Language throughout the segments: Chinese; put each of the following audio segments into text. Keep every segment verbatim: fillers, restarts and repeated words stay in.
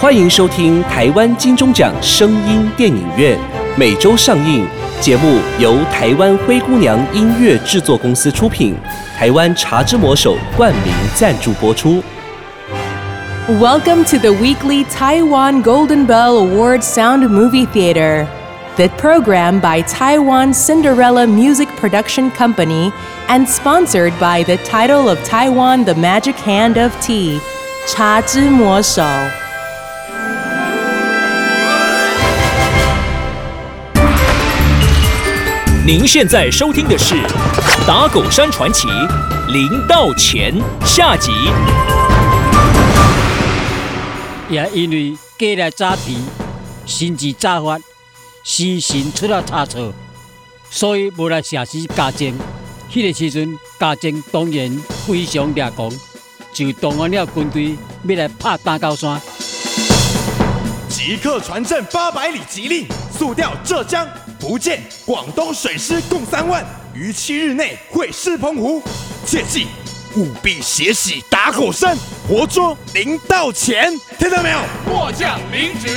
欢迎收听台湾金钟奖声音电影院，每周上映。节目由台湾灰姑娘音乐制作公司出品，台湾茶之魔手冠名赞助播出。 Welcome to the weekly Taiwan Golden Bell Award Sound Movie Theater. The program by Taiwan Cinderella Music Production Company and sponsored by the title of Taiwan The Magic Hand of Tea, 茶之魔手。 您现在收听的是《打狗山传奇》零到钱下集。 也因为过来早皮，心智早发，时辰出了差错，所以无来社死家政。迄、那个时阵，家政当然非常掠狂，就动员了军队要来拍打高山。 即刻传朕八百里急令，速调浙江、福建、广东水师共三万，于七日内会师澎湖。切记，务必血洗打狗山，活捉林道乾。听到没有？ 末将领旨。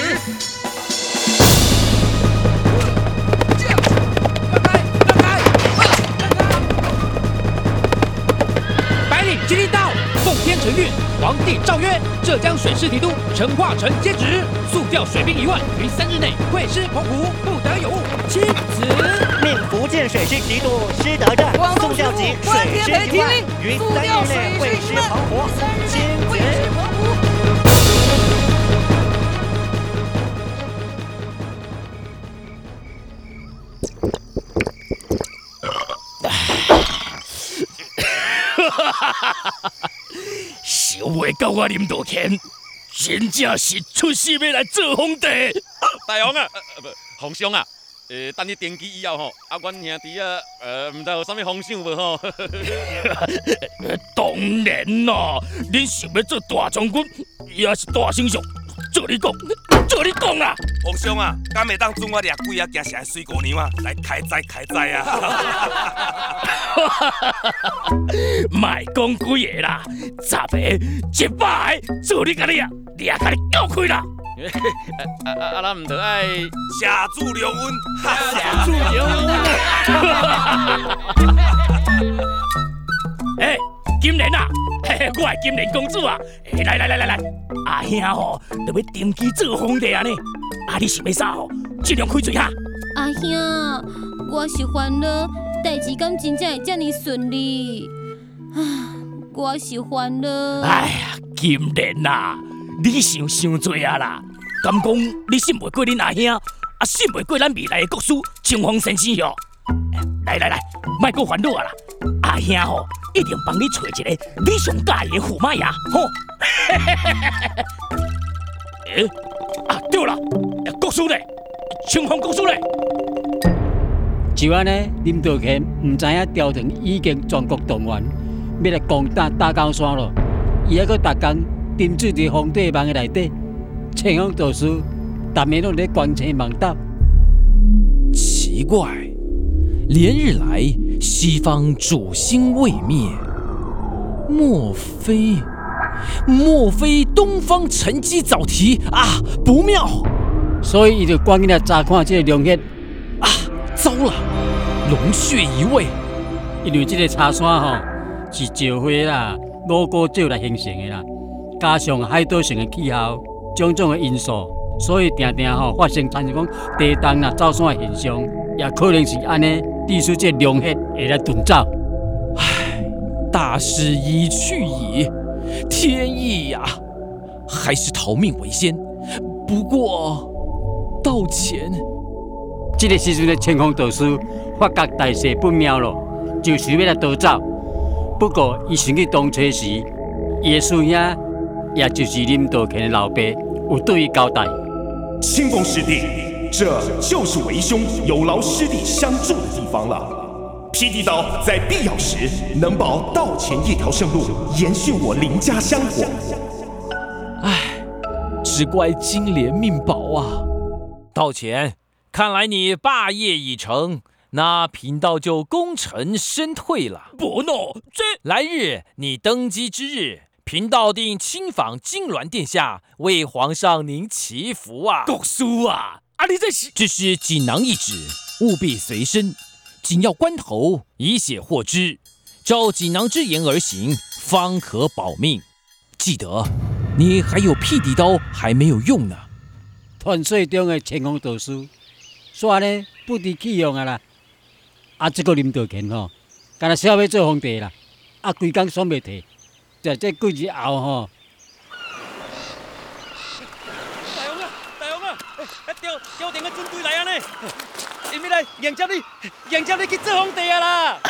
白领吉利道，奉天承运，皇帝诏曰：浙江水师提督陈化成接旨，速调水兵一万，于三日内会师澎湖，不得有误。钦此。 命福建水师提督施德正速调集水师一万，于三日内会师澎湖。钦此。 想袂到我林道乾，真正是出世要来做皇帝。 大王啊，呃不，皇上啊，呃，等你登基以后吼，啊，阮兄弟啊，呃，唔知有啥物方向无吼？ 当然啦，恁想要做大将军，也是大丞相，做你讲，做你讲啊！ 皇上啊，敢会当准我掠鬼啊，行城水姑娘啊，来开斋开斋啊！ 卖讲几个啦，十个、一百个，做你甲你啊，掠甲你教开啦！ 啊啊啊！咱唔得爱下注留温， 下注留温啊！哎，金莲啊，嘿嘿，我系金莲公主啊！来来来来来，阿兄吼，就要登基做皇帝啊呢！啊，你想要啥吼？尽量开嘴哈！ 阿兄，我是烦恼，代志敢真正会这么顺利？啊，我是烦恼。 哎呀，金莲啊，你想伤多啊啦！敢讲你信袂过恁阿兄，啊信袂过咱未来的国师清风先生哟！来来来，莫阁烦恼啊啦！阿兄吼，一定帮你找一个你上介意的驸马爷吼！诶、欸，啊对了，国师咧，清风国师咧。 就安尼，林道乾唔知影朝廷已經全國動員，要來攻打大高山咯。伊還佫逐工沉醉伫皇帝夢的內底，清風道士逐暝攏咧關青夢答。 奇怪，连日来西方主星未灭，莫非莫非东方沉积早啼啊？不妙！ 所以伊就赶紧来查看这个龙穴。 啊，糟了，龙穴移位。 因为这个茶山吼是石灰啦、五谷石来形成的啦，加上海岛性的气候，种种的因素，所以定定吼发生产生讲地动啦、走山的现象，也可能是安尼，致使这龙穴会来遁走。 唉，大势已去矣，天意呀，还是逃命为先。不过，道前。 这个时阵的清风道士发觉大势不妙咯，就想要来逃走。不过，伊想去东初时，伊的师兄，也就是林道乾的老爸，有对伊交代： 清风师弟，这就是为兄有劳师弟相助的地方了。霹雳岛在必要时能保道前一条生路，延续我林家香火。 唉，只怪金莲命薄啊！ 道前。看来你霸业已成，那贫道就功成身退了。 不喏，这来日你登基之日， 贫道定亲访金銮殿下，为皇上您祈福啊！ 国师啊，啊你这是…… 只是锦囊一纸，务必随身，紧要关头以血获之，照锦囊之言而行，方可保命。记得，你还有辟地刀还没有用呢。 传说中的乾坤道书，煞呢不知去用啊啦！啊，这个林道乾吼，干那想要做皇帝啦，啊，规工爽袂提，在这几日后吼。 大王啊，大王啊，哎，朝朝廷的军队来啊呢，因要来迎接你，迎接你去做皇帝啊啦！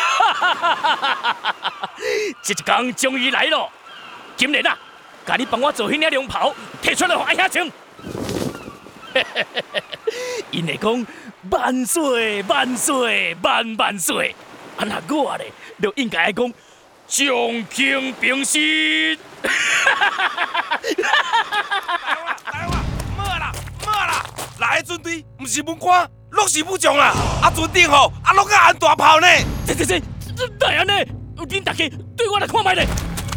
这一天终于来了，今日啊，甲你帮我做迄领龙袍，摕出来互阿兄穿。因会讲万岁万岁万万岁，啊那我咧就应该讲将卿平息。 大王，莫啦莫啦，来的军队不是文官，拢是武将啦。啊，船顶吼，啊拢甲按大炮呢。 这这这这哪安尼？恁大家对我来看卖咧。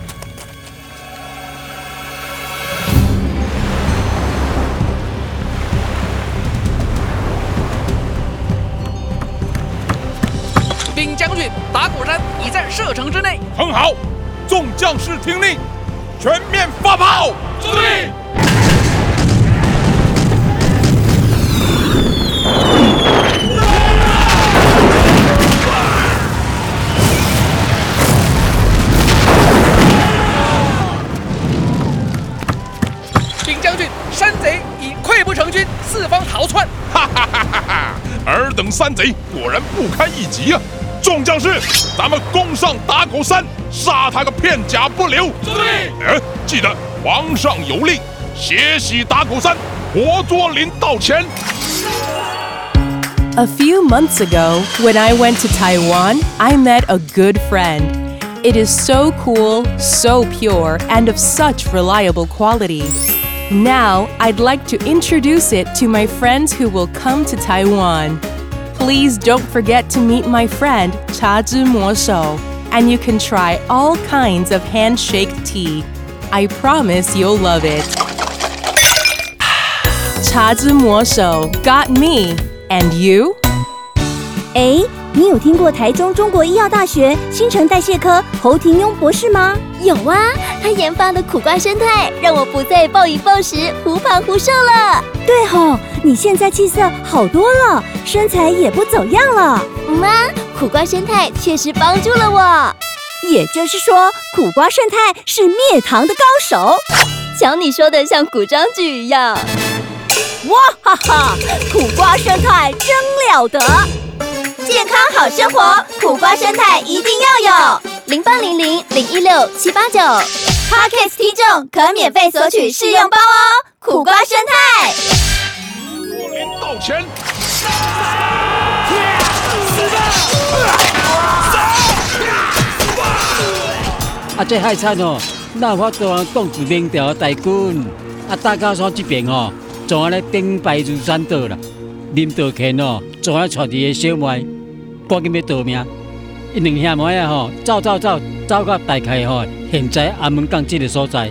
禀将军，打鼓山已在射程之内。 很好，众将士听令，全面发炮！ 注意！ 禀将军，山贼已溃不成军，四方逃窜。 哈哈哈哈哈！尔等山贼果然不堪一击啊！众将士，咱们攻上打狗山，杀他个片甲不留！ 注意！ 哎，记得皇上有令，血洗打狗山，活捉林道乾。 A few months ago, when I went to Taiwan, I met a good friend. It is so cool, so pure, and of such reliable quality. Now, I'd like to introduce it to my friends who will come to Taiwan. Please don't forget to meet my friend, Cha Zhi Mo Shou, and you can try all kinds of handshake tea. I promise you'll love it. Cha Zhi Mo Shou got me, and you? 哎，你有听过台中中国医药大学新陈代谢科侯廷庸博士吗？ 有啊，他研发的苦瓜生态，让我不再暴饮暴食、忽胖忽瘦了。 对吼，你现在气色好多了，身材也不走样了。 嗯啊，苦瓜生态确实帮助了我。 也就是说，苦瓜生态是灭糖的高手。 瞧你说的像古装剧一样。 哇哈哈，苦瓜生态真了得！ 健康好生活，苦瓜生态一定要有。零八零零零一六七八九 ，Podcast 听众可免费索取试用包哦。苦瓜生态。 林道乾， 啊，这海产哦，哪有法度通挡住明朝的大军？啊，大高山这边哦，总安尼兵败如山倒啦。林道乾哦，总安带伫个小妹，赶紧要逃命。因两兄妹啊吼，走走走，走到大概吼，现在安门港这个所在。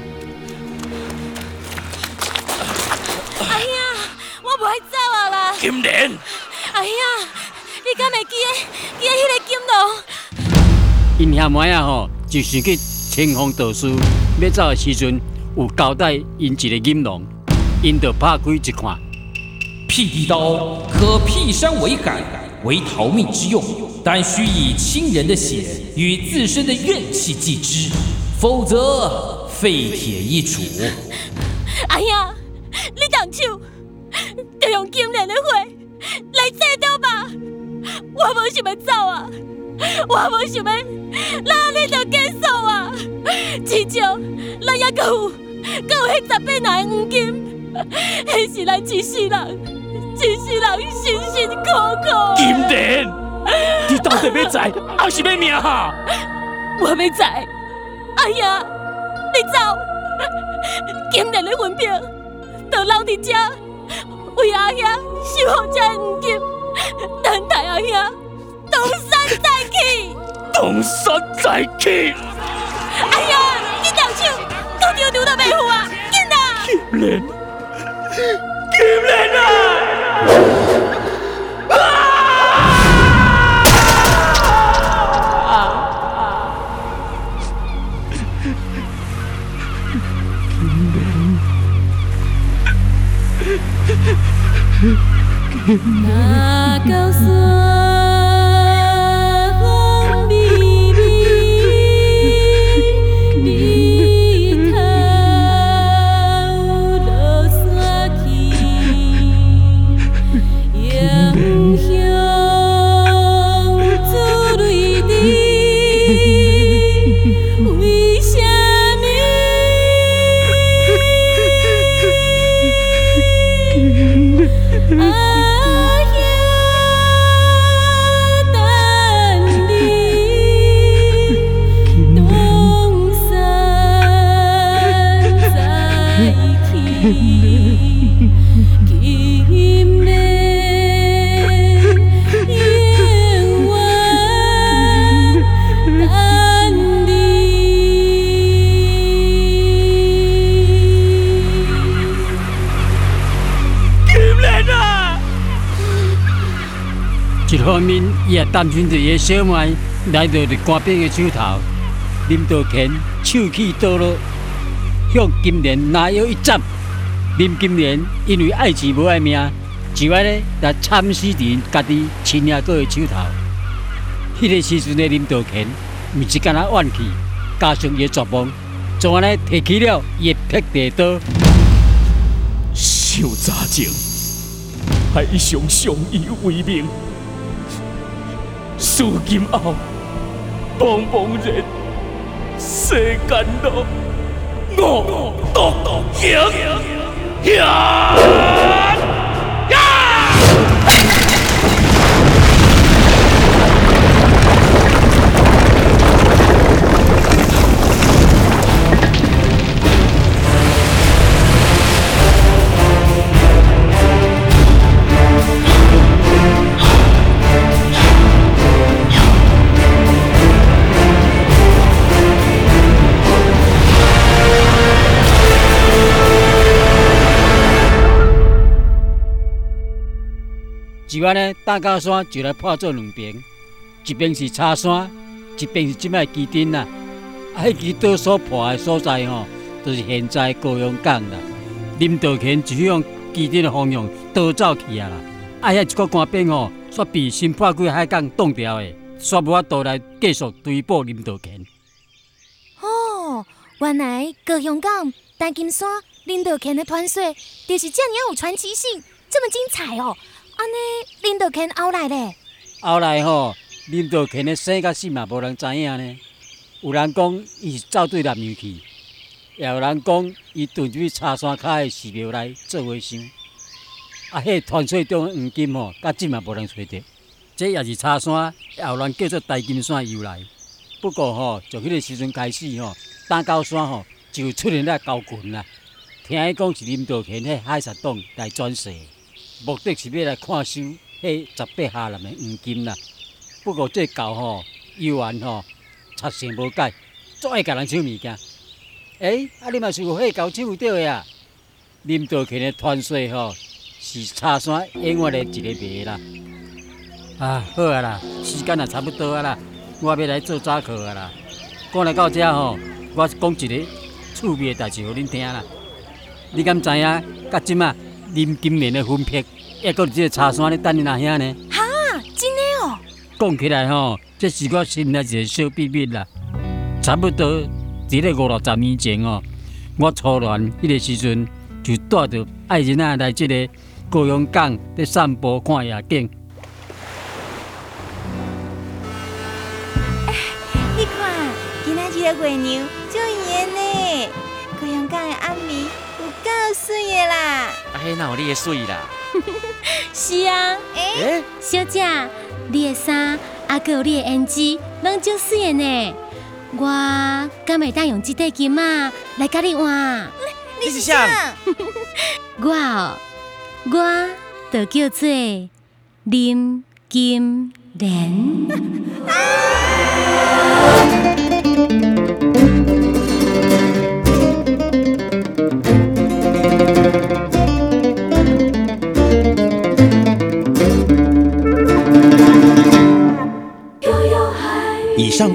哎呀，我不爱走啊啦！ 金莲， 哎呀，你敢会记得记得迄个金龙？ 因兄妹啊吼，就想去清风道书，要走的时阵有交代因一个银龙，因就拍开一看， 辟地刀可辟山为海，为逃命之用，但需以亲人的血与自身的怨气祭之，否则废铁一杵。 哎呀，你动手就用金莲的血来制刀吧！我无想要走啊，我无想要，那你就结束啊！至少咱还阁有，阁有迄十八拿的黄金，迄是咱一世人。一世人辛辛苦苦。 金莲，你到底要在还是要命哈？ 我要在。哎呀，你走！金莲的魂魄就留伫这，为阿兄守护这黄金，等待阿兄东山再起。 东山再起！ 哎呀， 你动手，都丢丢到袂赴啊！紧啊！ 金莲，金莲啊！ 那高山风微微，日头落山去，阳向珠泪滴，为什么？啊一方面，伊也担心着伊的小妹来到着官兵的手头，林道乾手起刀落，向金莲拿腰一斩。林金莲因为爱钱无爱命，就安尼来惨死伫家己亲阿哥的手头。迄、那个时阵的林道乾，毋是干那怨气，加上伊的绝望，就安尼提起了伊的劈地刀。 小早前，还一向相依为命。事今后，茫茫然世间路，我独行行。 就安尼，大高山就来破做两边，一边是茶山，一边是即摆基丁啦。啊，迄支刀所破的所在吼，就是现在高阳港啦。林道乾就向基丁的方向逃走去啊啦。啊，遐一个官兵吼，煞被新破鬼海港挡掉的，煞无法度来继续追捕林道乾。 哦，原来高阳港、丹金山、林道乾的传说，就是这样有传奇性，这么精彩哦！安尼，林道乾后来咧？ 后来吼，林道乾的生甲死嘛，无人知影呢。有人讲伊是走对南洋去，也有人讲伊遁入去茶山骹的寺庙内做和尚。啊，迄传说中的黄金吼，到即嘛无人找着。这也是茶山后来叫做大金山的由来。不过吼，从迄个时阵开始吼，打高山吼就出现了高群啦。听伊讲是林道乾迄海沙党来转世。目的是要来看收迄十八下南的黄金啦。不过这狗吼，游玩吼，贼性无改，足爱甲人抢物件。诶、欸，啊你嘛是有迄狗抢有到的啊？林道乾的传说吼，是茶山永远的一个谜啦。啊，好啊啦，时间也差不多啊啦，我要来做早课啊啦。讲来到这吼，我讲一个趣味的代志互恁听啦。你敢知影？到即仔？林金莲的魂魄，还搁伫这个茶山咧等你阿兄呢。 哈，真的哦！ 讲起来吼，这是我心内一个小秘密啦。差不多伫咧五六十年前哦，我初恋迄个时阵就带着爱人仔来这个高阳港咧散步看夜景。 哎，你看，今仔日的月娘足圆呢，高阳港的暗暝。够水的啦！ 啊，迄哪有你的水啦？ 是啊，诶、欸，小姐，你的衫啊，还有你的胭脂，拢足水的呢。我敢会当用这块金啊来甲你换？ 你是啥？ 我哦，我就叫做林金莲。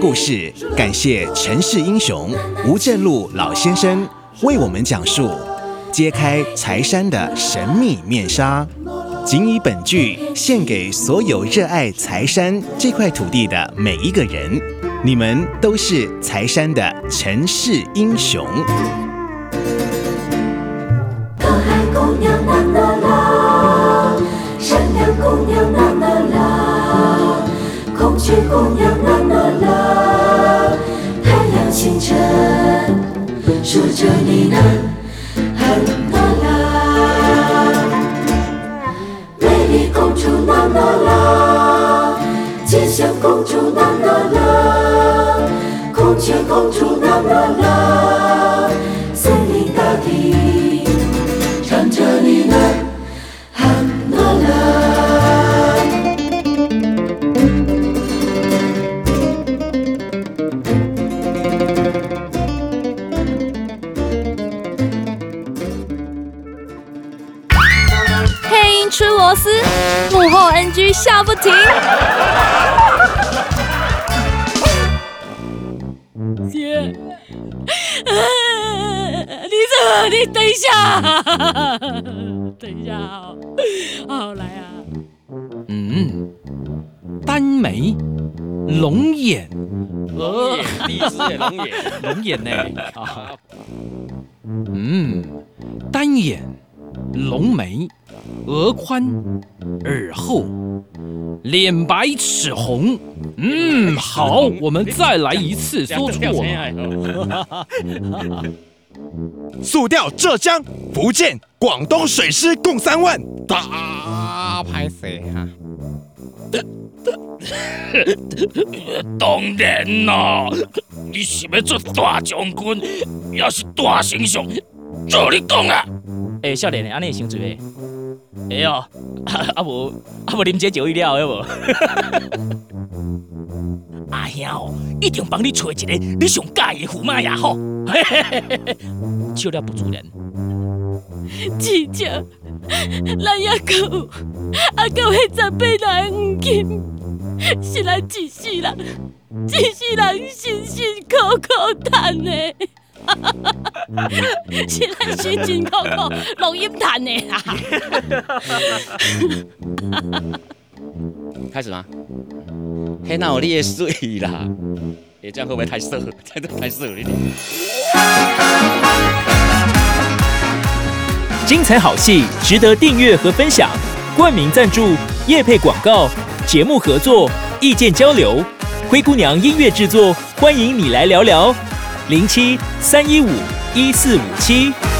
故事，感谢城市英雄吴正禄老先生为我们讲述揭开柴山的神秘面纱。仅以本剧献给所有热爱柴山这块土地的每一个人，你们都是柴山的城市英雄。 可爱姑娘啦啦啦，善良姑娘啦啦啦，孔雀姑娘啦啦啦，太阳清晨说着你呢很啦啦，美丽公主啦啦啦，吉祥公主啦啦啦，孔雀公主啦啦啦，森林大地唱着你呢喊啦啦。 配音吃螺丝，幕后 N G 笑不停。 姐，你这，你等一下，等一下，好，好来啊。 嗯，单眉，龙眼， 龙眼，第一次耶，龙眼， 龙眼呢？啊，嗯，单眼，龙眉，额宽，耳厚，脸白齿红。嗯，好，我们再来一次，说错了。 速调浙江、福建、广东水师共三万， 大拍谁啊？ 当然啦，你是要做大将军，也是大丞相，照你讲啊！ 诶、欸，少年，安尼会伤济袂？会哦，啊啊无啊无啉这酒饮料的无？ 阿兄哦，一定帮你找一个你上介意的驸马爷好。 笑了不自然。 姐姐，咱也够，啊够迄十八来黄金，是咱一世人，一世人辛辛苦苦赚的。是咱辛辛苦苦录音赚的啦。 开始吗？嘿，那有你的水啦！哎，这样会不会太色？这样太色了一点。 精彩好戏值得订阅和分享，冠名赞助、业配广告、节目合作、意见交流，灰姑娘音乐制作，欢迎你来聊聊。零七三一五一四五七。